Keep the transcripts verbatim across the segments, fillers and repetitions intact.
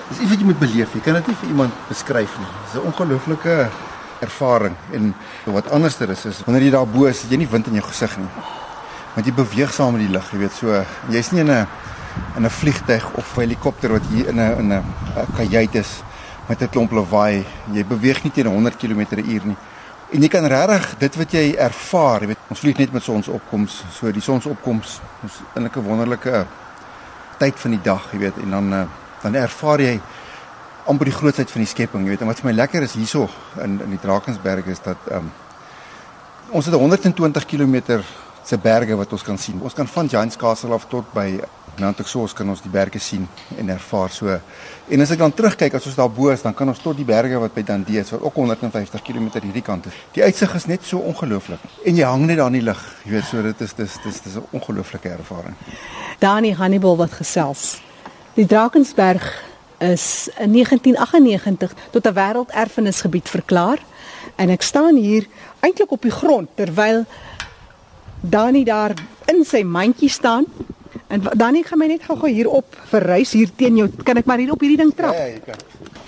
Dis iets wat jy moet beleef. Jy kan dit nie vir iemand beskryf nie. Dis 'n ongelooflike ervaring. En wat anderster is is wanneer jy daar bo is, het jy nie wind in jou gesig nie. Want jy beweeg saam met die lug, jy weet, so jy's nie in 'n in 'n vliegtuig of 'n helikopter wat hier in 'n in 'n kajuit is met 'n klomp lawaai. Jy beweeg nie teen honderd kilometer per uur nie. En jy kan regtig dit wat jy ervaar, jy weet, ons vlieg net met sonsopkoms, so die sonsopkoms is eintlik 'n wonderlike tyd van die dag, jy weet, en dan dan ervaar jy amper die grootsheid van die skepping, jy weet. En wat vir my lekker is hierso in in die Drakensberge is dat um, ons het honderd en twintig kilometer se berge wat ons kan sien. Ons kan van Giant's Castle af tot by Mount Exos kan ons die berge sien en ervaar so. En as ek dan terugkyk, as ons daar bo is, dan kan ons tot die berge wat by Dundee is, wat ook honderd en vyftig kilometer hierdie kant is. Die uitsig is net so ongelooflik. En jy hang net daar in die lug. Jy weet, so dit is dis dis dis 'n ongelooflike ervaring. Dani Hannibal wat gesels. Die Drakensberg is in negentien agt agt nege tot 'n wêrelderfenisgebied verklaar. En ek staan hier eintlik op die grond terwyl Dani daar in sy mandjie staan. En Dani gaan my net gou-gou hier op verrys hier teen jou. Kan ek maar hier op hierdie ding trap? Ja, ja, jy kan.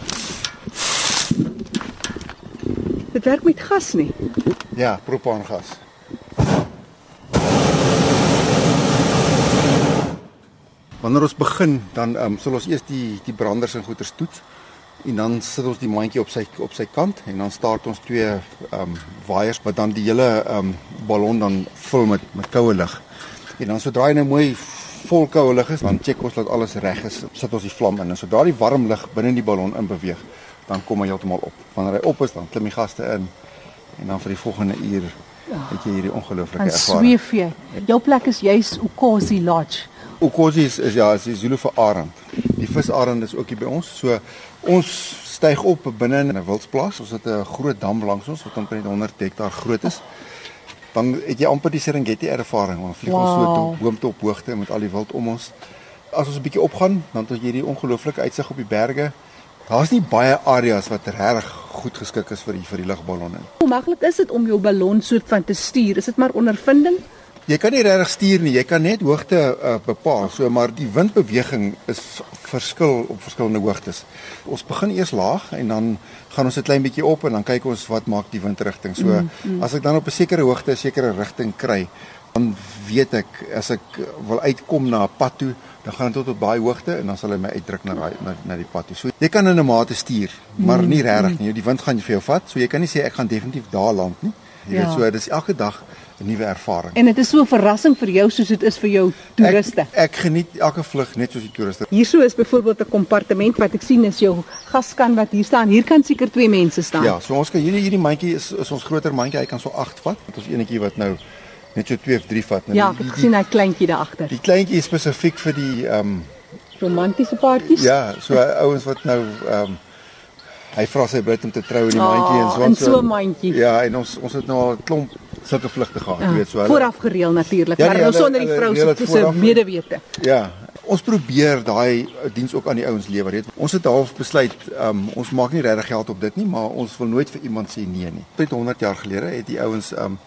Dit werk met gas nie. Ja, propaangas. Wanneer ons begin, dan um, sal ons eers die die branders en goeters toets en dan sit ons die mandjie op sy op sy kant en dan start ons twee um, waaiers wat dan die hele um, ballon dan vul met met koue lug. En dan sodra hy nou mooi vol koue lug is, dan check ons dat alles reg is, sit ons die vlam in en sodra die warm lug binne die ballon in beweeg, dan kom hy heeltemal op. Wanneer hy op is, dan klim die gaste in en dan vir die volgende uur het jy hierdie ongelooflike ervaring. En sweef jy. Jou plek is juis Ukosi Lodge. Ukosi is, is ja, is die Zulu vir arend. Die visarend is ook hier by ons. So ons styg op binne in 'n wildsplaas. Ons het 'n groot dam langs ons wat omtrent honderd hektaar groot is. Dan het jy amper die Serengeti ervaring. Ons vlieg wow. ons so tot boomte op hoogte met al die wild om ons. As ons 'n bietjie opgaan, dan het jy hierdie ongelooflike uitsig op die berge. Daar's nie baie areas wat regtig goed geskik is vir die vir die lugballonne. Hoe maklik is dit om jou ballon soort van te stuur? Is dit maar ondervinding? Jy kan nie regtig stuur nie, jy kan net hoogte uh, bepaal. So maar die windbeweging is verskil op verskillende hoogtes. Ons begin eers laag en dan gaan ons 'n klein bietjie op en dan kyk ons wat maak die windrigting. So mm, mm. as ek dan op 'n sekere hoogte 'n sekere rigting kry, dan weet ek as ek wil uitkom na 'n pad toe, dan gaan dit tot op baie hoogte en dan sal hy my uitdruk na na, na die pad toe. So jy kan in 'n mate stuur, maar nie regtig nie. Die wind gaan vir jou vat, so jy kan nie sê ek gaan definitief daar land nie. Jy ja. weet so, dis elke dag 'n nuwe ervaring. En dit is so 'n verrassing vir jou soos dit is vir jou toeriste. Ek, ek geniet elke vlug net soos die toeriste. Hierso is byvoorbeeld 'n kompartement wat ek sien is jou gaskan wat hier staan. Hier kan seker twee mense staan. Ja, so ons kan hierdie hierdie mandjie is, is ons groter mandjie. Hy kan so agt vat. Dit is enetjie wat nou net so twee of drie vat. Nou, ja, ek het gesien hy kleintjie daar agter. Die kleintjie is spesifiek vir die ehm um, romantiese paartjies. Ja, so ouens wat nou ehm um, hy vra sy bruid om te trou in die oh, mandjie en so en so 'n mandjie. Ja, en ons ons het nou al 'n klomp sulke vlugte gehad, jy weet so. Hulle, vooraf gereël natuurlik, ja, maar nee, nou sonder die vrou se medewete. Ja, ons probeer daai diens ook aan die ouens lewer, weet. Ons het half besluit, um, ons maak nie regtig geld op dit nie, maar ons wil nooit vir iemand sê nee nie. Net honderd jaar gelede het die ouens um,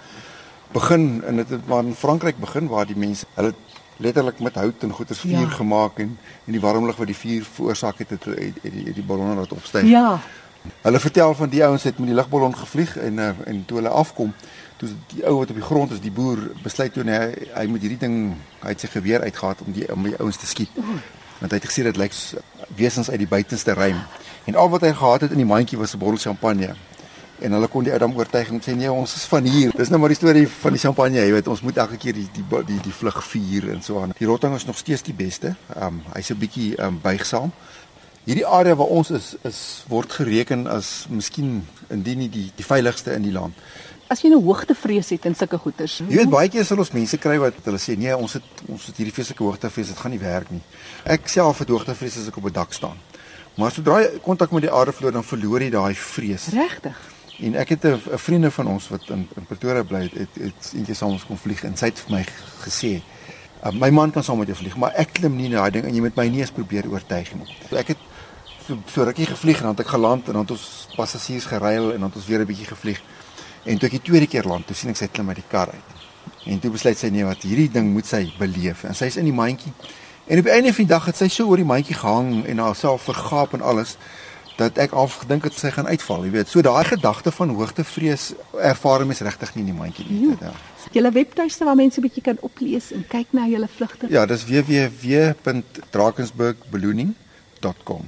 begin en dit het maar in Frankryk begin waar die mense hulle letterlik met hout en goeders vuur ja. gemaak en en die warm lug wat die vuur veroorsaak het het, het, het die, die ballonne laat opstyg. Ja. Hulle vertel van die ouens het met die lugballon gevlieg en uh, en toe hulle afkom, toe die ou wat op die grond is, die boer besluit toe hy hy moet hierdie ding hy het sy geweer uitgehaal om die om die ouens te skiet. Want hy het gesien dit lyk wesens uit die buitenste ruim. En al wat hy gehad het in die mandjie was 'n bottel champagne. En hulle kon die ou dan oortuig en sê nee, ons is van hier. Dis nou maar die storie van die champagne, jy weet, ons moet elke keer die die die, die vlug vier en so aan. Die rotting is nog steeds die beste. Um hy's 'n bietjie um buigsaam. Hierdie area waar ons is is word gereken as miskien indien nie die die veiligste in die land. As jy 'n hoogtevrees het in sulke goeters. Jy weet baie keer sal ons mense kry wat hulle sê nee, ons het ons het hierdie vreeslike hoogtevrees, dit gaan nie werk nie. Ek self het hoogtevrees as ek op 'n dak staan. Maar sodra jy kontak met die aarde verloor, dan verloor jy daai vrees. Regtig? En ek het 'n vriende van ons wat in, in Pretoria bly het, het, het eentjie saam ons kon vlieg en sy het vir my gesê, uh, my man kan saam met jou vlieg, maar ek klim nie na daai ding en jy moet my nie eens probeer oortuig nie. So ek het so, so rukkie gevlieg en dan het ek geland en dan het ons passasiers geruil en dan het ons weer 'n bietjie gevlieg. En toe ek die tweede keer land, toe sien ek sy klim uit die kar uit. En toe besluit sy nee, wat hierdie ding moet sy beleef. En sy is in die mandjie En op die einde van die dag het sy so oor die mandjie gehang en haarself vergaap en alles, dat ek al gedink het sy gaan uitval, jy weet. So daai gedagte van hoogtevrees ervaar mens regtig nie in die mandjie nie. Ja. Julle webtuiste waar mense 'n bietjie kan oplees en kyk na julle vlugte. Ja, dis w w w punt drakensberg ballooning punt com.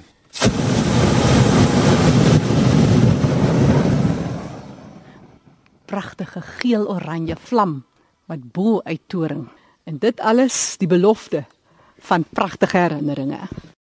Pragtige geel-oranje vlam wat bo uit toring. En dit alles die belofte van pragtige herinneringe.